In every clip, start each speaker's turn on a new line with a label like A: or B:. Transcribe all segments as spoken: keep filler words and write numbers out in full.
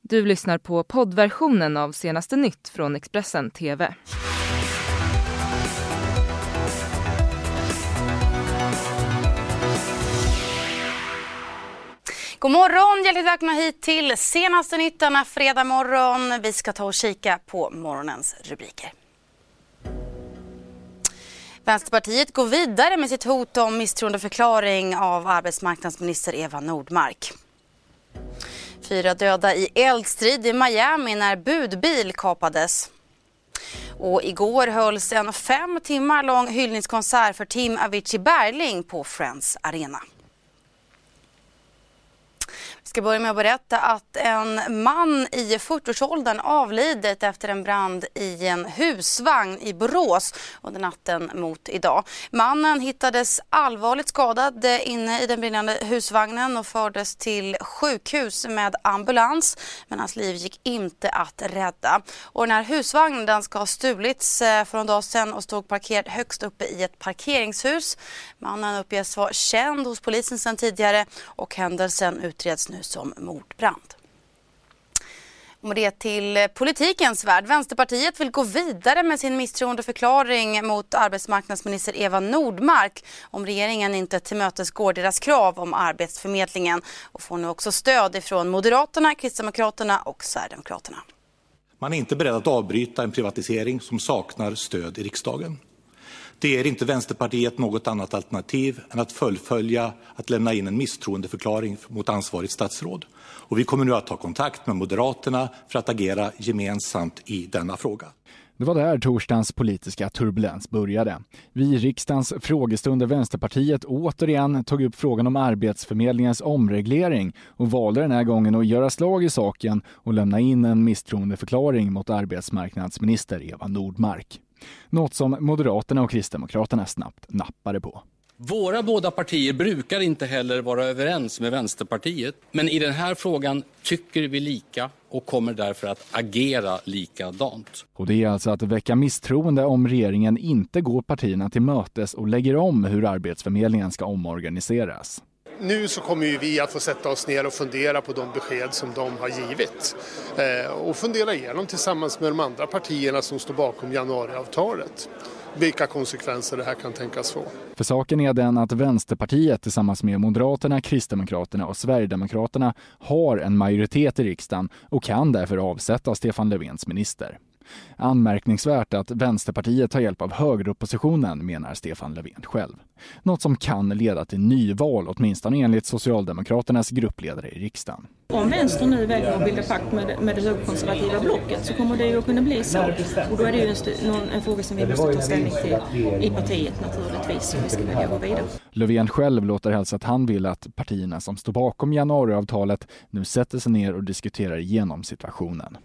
A: Du lyssnar på poddversionen av Senaste Nytt från Expressen T V.
B: God morgon, hjärtligt välkomna hit till Senaste Nytt denna fredag morgon. Vi ska ta och kika på morgonens rubriker. Vänsterpartiet går vidare med sitt hot om misstroendeförklaring av arbetsmarknadsminister Eva Nordmark. Fyra döda i eldstrid i Miami när budbil kapades. Och igår hölls en fem timmar lång hyllningskonsert för Tim Avicii Bergling på Friends Arena. Vi ska börja med att berätta att en man i fyrtioårsåldern avlidit efter en brand i en husvagn i Borås under natten mot idag. Mannen hittades allvarligt skadad inne i den brinnande husvagnen och fördes till sjukhus med ambulans, men hans liv gick inte att rädda. Och den här husvagnen den ska ha stulits för en dag sedan och stod parkerad högst uppe i ett parkeringshus. Mannen uppges vara känd hos polisen sedan tidigare och händelsen utreds nu som mordbrand. Och med det till politikens värld. Vänsterpartiet vill gå vidare med sin misstroendeförklaring mot arbetsmarknadsminister Eva Nordmark om regeringen inte tillmötesgår deras krav om arbetsförmedlingen, och får nu också stöd ifrån Moderaterna, Kristdemokraterna och Sverigedemokraterna.
C: Man är inte beredd att avbryta en privatisering som saknar stöd i riksdagen. Det är inte Vänsterpartiet något annat alternativ än att fullfölja att lämna in en misstroendeförklaring mot ansvarigt statsråd. Och vi kommer nu att ta kontakt med Moderaterna för att agera gemensamt i denna fråga.
D: Det var där torsdagens politiska turbulens började. Vi i riksdagens frågestund där Vänsterpartiet återigen tog upp frågan om arbetsförmedlingens omreglering och valde den här gången att göra slag i saken och lämna in en misstroendeförklaring mot arbetsmarknadsminister Eva Nordmark. Något som Moderaterna och Kristdemokraterna snabbt nappade på.
E: Våra båda partier brukar inte heller vara överens med Vänsterpartiet. Men i den här frågan tycker vi lika och kommer därför att agera likadant.
D: Och det är alltså att väcka misstroende om regeringen inte går partierna till mötes och lägger om hur arbetsförmedlingen ska omorganiseras.
F: Nu så kommer ju vi att få sätta oss ner och fundera på de besked som de har givit. Eh, och fundera igenom tillsammans med de andra partierna som står bakom januariavtalet. Vilka konsekvenser det här kan tänkas få.
D: För saken är den att Vänsterpartiet tillsammans med Moderaterna, Kristdemokraterna och Sverigedemokraterna har en majoritet i riksdagen och kan därför avsätta Stefan Löfvens minister. Anmärkningsvärt att Vänsterpartiet tar hjälp av högeroppositionen, menar Stefan Löfven själv. Något som kan leda till nyval, åtminstone enligt Socialdemokraternas gruppledare i riksdagen.
G: Om vänster nu väljer att bilda pakt med, med det högerkonservativa blocket så kommer det ju att kunna bli så. Och då är det ju en, st- någon, en fråga som vi måste ta ställning till i partiet naturligtvis, om vi ska välja gå vidare.
D: Löfven själv låter hälsa att han vill att partierna som står bakom januariavtalet nu sätter sig ner och diskuterar igenom situationen.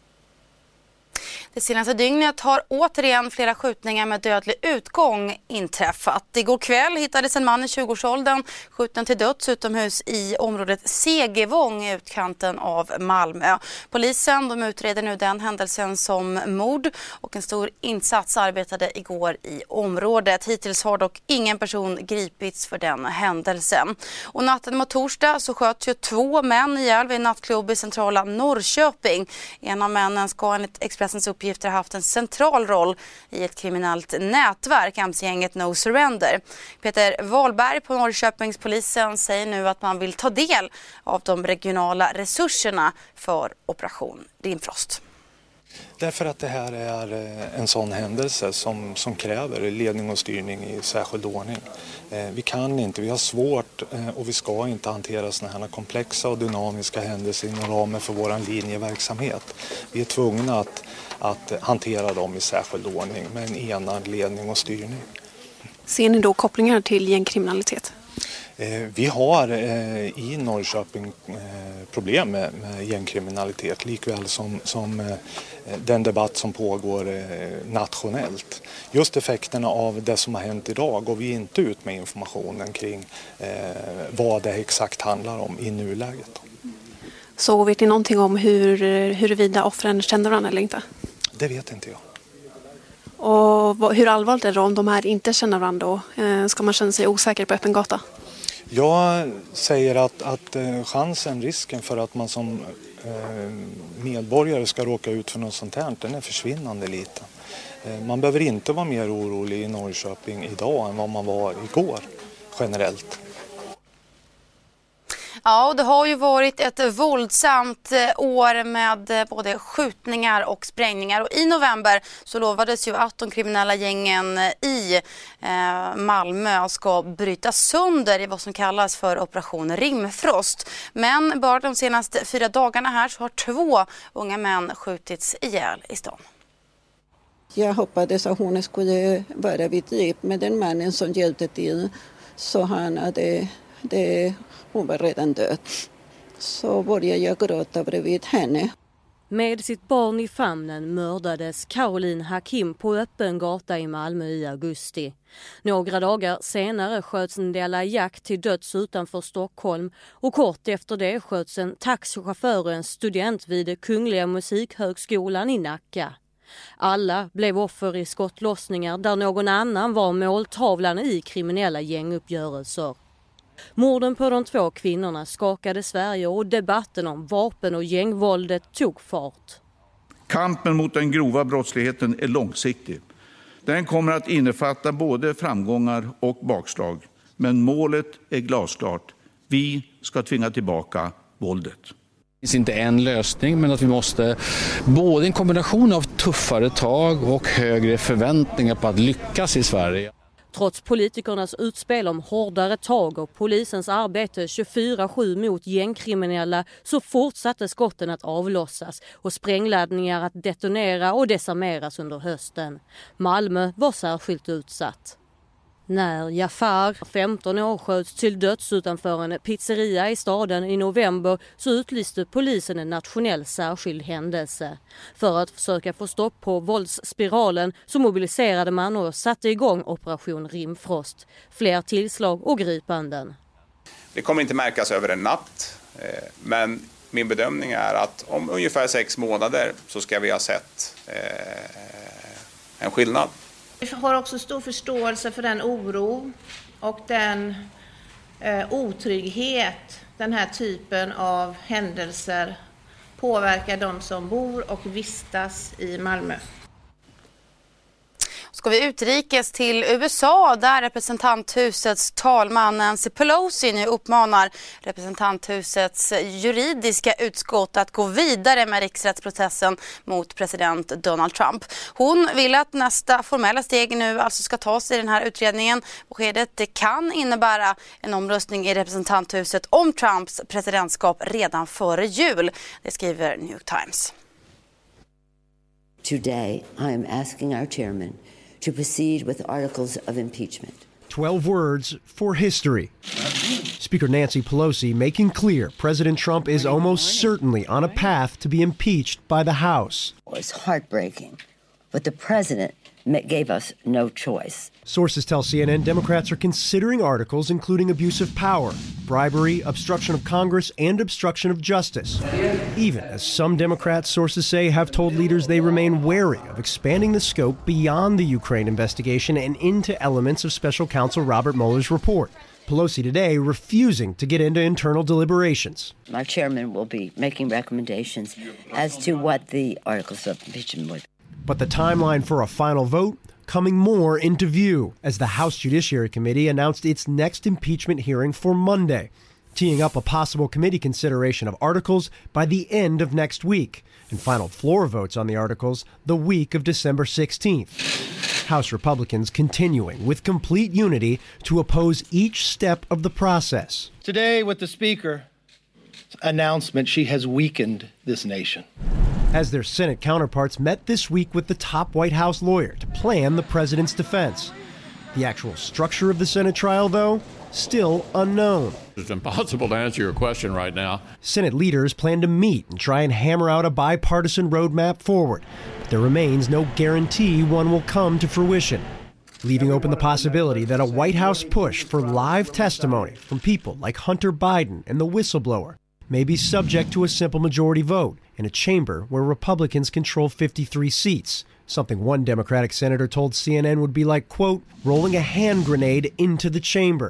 B: Det senaste dygnet har återigen flera skjutningar med dödlig utgång inträffat. Igår kväll hittades en man i tjugoårsåldern skjuten till döds utomhus i området Segevång i utkanten av Malmö. Polisen de utreder nu den händelsen som mord och en stor insats arbetade igår i området. Hittills har dock ingen person gripits för den händelsen. Och natten mot torsdag så sköts ju två män ihjäl vid en nattklubb i centrala Norrköping. En av männen ska enligt Expressens uppgifter har haft en central roll i ett kriminellt nätverk, M C-gänget No Surrender. Peter Wahlberg på Norrköpingspolisen säger nu att man vill ta del av de regionala resurserna för Operation Rimfrost.
H: Därför att det här är en sån händelse som, som kräver ledning och styrning i särskild ordning. Vi kan inte, vi har svårt och vi ska inte hantera såna här komplexa och dynamiska händelser inom ramen för vår linjeverksamhet. Vi är tvungna att, att hantera dem i särskild ordning med en enad ledning och styrning.
I: Ser ni då kopplingar till gängkriminalitet?
H: Vi har i Norrköping problem med gängkriminalitet likväl som, som den debatt som pågår nationellt. Just effekterna av det som har hänt idag går vi inte ut med informationen kring vad det exakt handlar om i nuläget.
I: Så vet ni någonting om hur, huruvida offren känner varandra eller inte?
H: Det vet inte jag.
I: Och hur allvarligt är det om de här inte känner varandra då? Ska man känna sig osäker på öppen gata?
H: Jag säger att, att chansen, risken för att man som medborgare ska råka ut för något sånt här, den är försvinnande liten. Man behöver inte vara mer orolig i Norrköping idag än vad man var igår generellt.
B: Ja, och det har ju varit ett våldsamt år med både skjutningar och sprängningar. Och i november så lovades ju att de kriminella gängen i eh, Malmö ska brytas sönder i vad som kallas för operation Rimfrost. Men bara de senaste fyra dagarna här så har två unga män skjutits ihjäl i stan.
J: Jag hoppades att hon skulle vara vid liv med den mannen som hjälpte till, så han hade... Det, hon var redan död. Så började jag gråta bredvid henne.
K: Med sitt barn i famnen mördades Caroline Hakim på öppen gata i Malmö i augusti. Några dagar senare sköts Ndella Jack till döds utanför Stockholm och kort efter det sköts en taxichaufför och en student vid Kungliga Musikhögskolan i Nacka. Alla blev offer i skottlossningar där någon annan var måltavlan i kriminella gänguppgörelser. Morden på de två kvinnorna skakade Sverige och debatten om vapen- och gängvåldet tog fart.
L: Kampen mot den grova brottsligheten är långsiktig. Den kommer att innefatta både framgångar och bakslag. Men målet är glasklart. Vi ska tvinga tillbaka våldet.
E: Det finns inte en lösning, men att vi måste både en kombination av tuffare tag och högre förväntningar på att lyckas i Sverige.
K: Trots politikernas utspel om hårdare tag och polisens arbete tjugofyra sju mot gängkriminella så fortsatte skotten att avlossas och sprängladdningar att detonera och desarmeras under hösten. Malmö var särskilt utsatt. När Jafar, femton år, sköts till döds utanför en pizzeria i staden i november så utlyste polisen en nationell särskild händelse. För att försöka få stopp på våldsspiralen så mobiliserade man och satte igång operation Rimfrost. Fler tillslag och gripanden.
M: Det kommer inte märkas över en natt, men min bedömning är att om ungefär sex månader så ska vi ha sett en skillnad.
N: Vi har också stor förståelse för den oro och den eh, otrygghet den här typen av händelser påverkar de som bor och vistas i Malmö.
B: Ska vi utrikes till U S A där representanthusets talman Nancy Pelosi nu uppmanar representanthusets juridiska utskott att gå vidare med riksrättsprocessen mot president Donald Trump. Hon vill att nästa formella steg nu alltså ska tas i den här utredningen. Beskedet det kan innebära en omröstning i representanthuset om Trumps presidentskap redan före jul. Det skriver New York Times.
O: Today I am asking our chairman to proceed with articles of impeachment.
P: twelve words for history. Speaker Nancy Pelosi making clear President Trump is almost certainly on a path to be impeached by the House.
O: It's heartbreaking, but the president gave us no choice.
P: Sources tell C N N Democrats are considering articles including abuse of power, bribery, obstruction of Congress, and obstruction of justice. Even as some Democrats, sources say, have told leaders they remain wary of expanding the scope beyond the Ukraine investigation and into elements of Special Counsel Robert Mueller's report. Pelosi today refusing to get into internal deliberations.
O: My chairman will be making recommendations as to what the articles of impeachment would be.
P: But the timeline for a final vote coming more into view as the House Judiciary Committee announced its next impeachment hearing for Monday, teeing up a possible committee consideration of articles by the end of next week, and final floor votes on the articles the week of December sixteenth. House Republicans continuing with complete unity to oppose each step of the process.
Q: Today, with the Speaker's announcement, she has weakened this nation.
P: As their Senate counterparts met this week with the top White House lawyer to plan the president's defense. The actual structure of the Senate trial, though, still unknown.
R: It's impossible to answer your question right now.
P: Senate leaders plan to meet and try and hammer out a bipartisan roadmap forward, but there remains no guarantee one will come to fruition, leaving open the possibility that a White House push for live testimony from people like Hunter Biden and the whistleblower may be subject to a simple majority vote in a chamber where Republicans control fifty-three seats, something one Democratic senator told C N N would be like, quote, rolling a hand grenade into the chamber.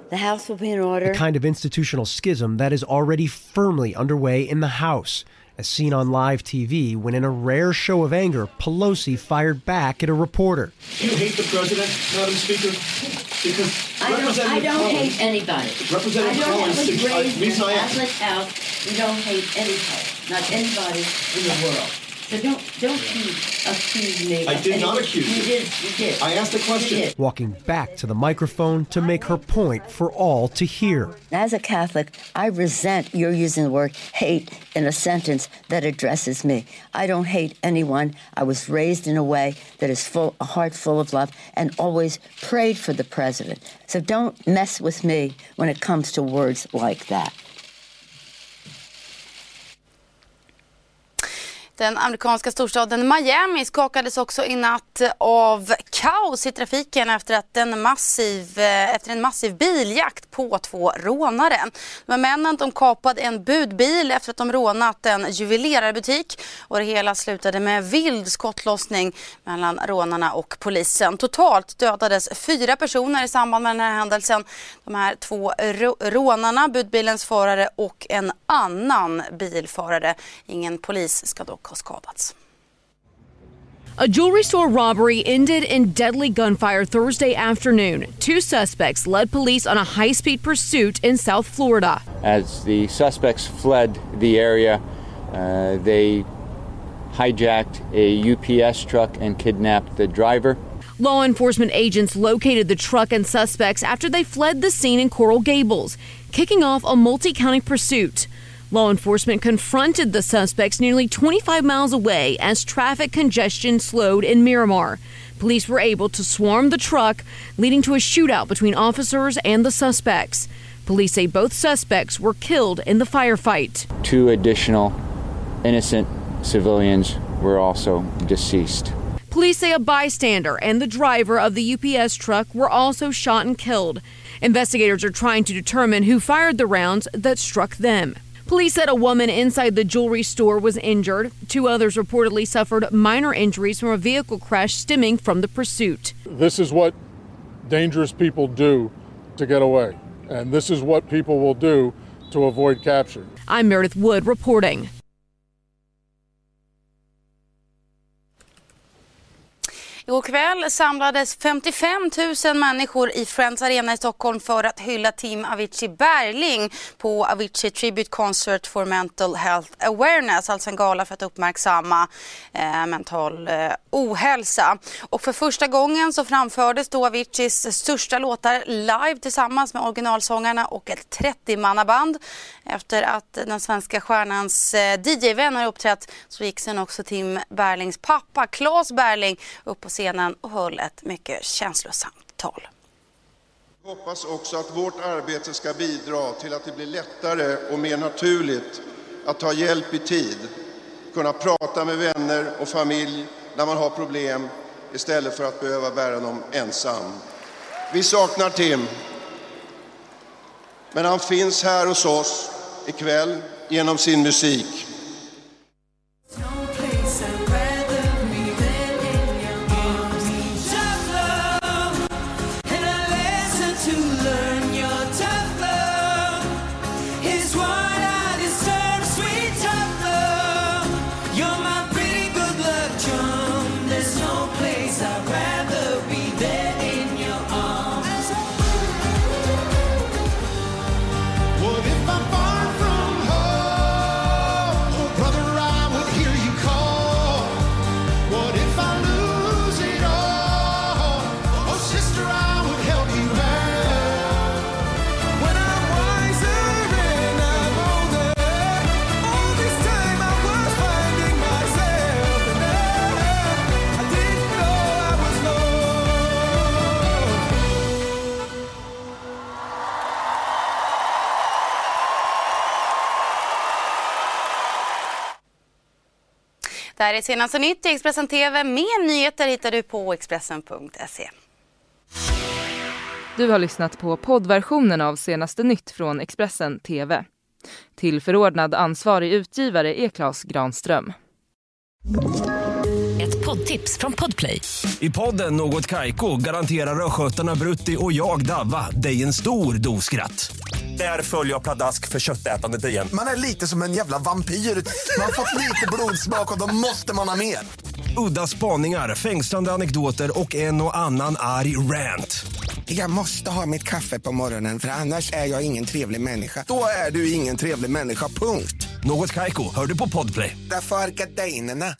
O: The House will be in order.
P: The kind of institutional schism that is already firmly underway in the House, as seen on live T V when in a rare show of anger, Pelosi fired back at a reporter.
S: You hate the president, Madam Speaker? Because
O: I don't, I don't hate anybody.
S: Representative
O: I don't
S: Collins,
O: was raised in
S: I,
O: a Catholic house. We don't hate anybody, not anybody in the world. So don't don't you accuse me.
S: I did
O: of
S: not
O: anything.
S: accuse
O: you.
S: you.
O: Did, you did.
S: I asked a question.
P: Walking back to the microphone to make her point for all to hear.
O: As a Catholic, I resent your using the word hate in a sentence that addresses me. I don't hate anyone. I was raised in a way that is full, a heart full of love, and always prayed for the president. So don't mess with me when it comes to words like that.
B: Den amerikanska storstaden Miami skakades också i natt av kaos i trafiken efter, att en, massiv, efter en massiv biljakt på två rånare. De här männen de kapade en budbil efter att de rånat en juvelerarbutik, och det hela slutade med vild skottlossning mellan rånarna och polisen. Totalt dödades fyra personer i samband med den här händelsen. De här två rånarna, budbilens förare och en annan bilförare. Ingen polis ska dock ha skadats.
T: A jewelry store robbery ended in deadly gunfire Thursday afternoon. Two suspects led police on a high-speed pursuit in South Florida.
U: As the suspects fled the area, uh, they hijacked a U P S truck and kidnapped the driver.
T: Law enforcement agents located the truck and suspects after they fled the scene in Coral Gables, kicking off a multi-county pursuit. Law enforcement confronted the suspects nearly twenty-five miles away as traffic congestion slowed in Miramar. Police were able to swarm the truck, leading to a shootout between officers and the suspects. Police say both suspects were killed in the firefight.
U: Two additional innocent civilians were also deceased.
T: Police say a bystander and the driver of the U P S truck were also shot and killed. Investigators are trying to determine who fired the rounds that struck them. Police said a woman inside the jewelry store was injured. Two others reportedly suffered minor injuries from a vehicle crash stemming from the pursuit.
V: This is what dangerous people do to get away, and this is what people will do to avoid capture.
T: I'm Meredith Wood reporting.
B: Igår kväll samlades femtiofem tusen människor i Friends Arena i Stockholm för att hylla Tim Avicii Bergling på Avicii Tribute Concert for Mental Health Awareness, alltså en gala för att uppmärksamma eh, mental eh, ohälsa. Och för första gången så framfördes då Aviciis största låtar live tillsammans med originalsångarna och ett trettio-mannaband. Efter att den svenska stjärnans eh, D J-vänner uppträtt så gick sen också Tim Berglings pappa Claes Bergling upp på scenen och höll ett mycket känslosamt tal.
W: Jag hoppas också att vårt arbete ska bidra till att det blir lättare och mer naturligt att ta hjälp i tid. Kunna prata med vänner och familj när man har problem istället för att behöva bära dem ensam. Vi saknar Tim. Men han finns här hos oss ikväll genom sin musik.
B: Det här är senaste nytt i Expressen T V. Mer nyheter hittar du på expressen punkt se.
A: Du har lyssnat på poddversionen av senaste nytt från Expressen T V. Till förordnad ansvarig utgivare är Claes Granström.
X: Ett
C: poddtips från Podplay.
F: I podden Något Kaiko garanterar östgötarna Brutti och jag Davva dig en stor dos skratt. Där följer jag pladask för köttätandet igen.
G: Man är lite som en jävla vampyr. Man har fått lite blodsmak och då måste man ha mer.
F: Udda spaningar, fängslande anekdoter och en och annan arg rant.
G: Jag måste ha mitt kaffe på morgonen för annars är jag ingen trevlig människa. Då är du ingen trevlig människa, punkt.
F: Något Kaiko, hör du på Podplay.
G: Därför är gardinerna.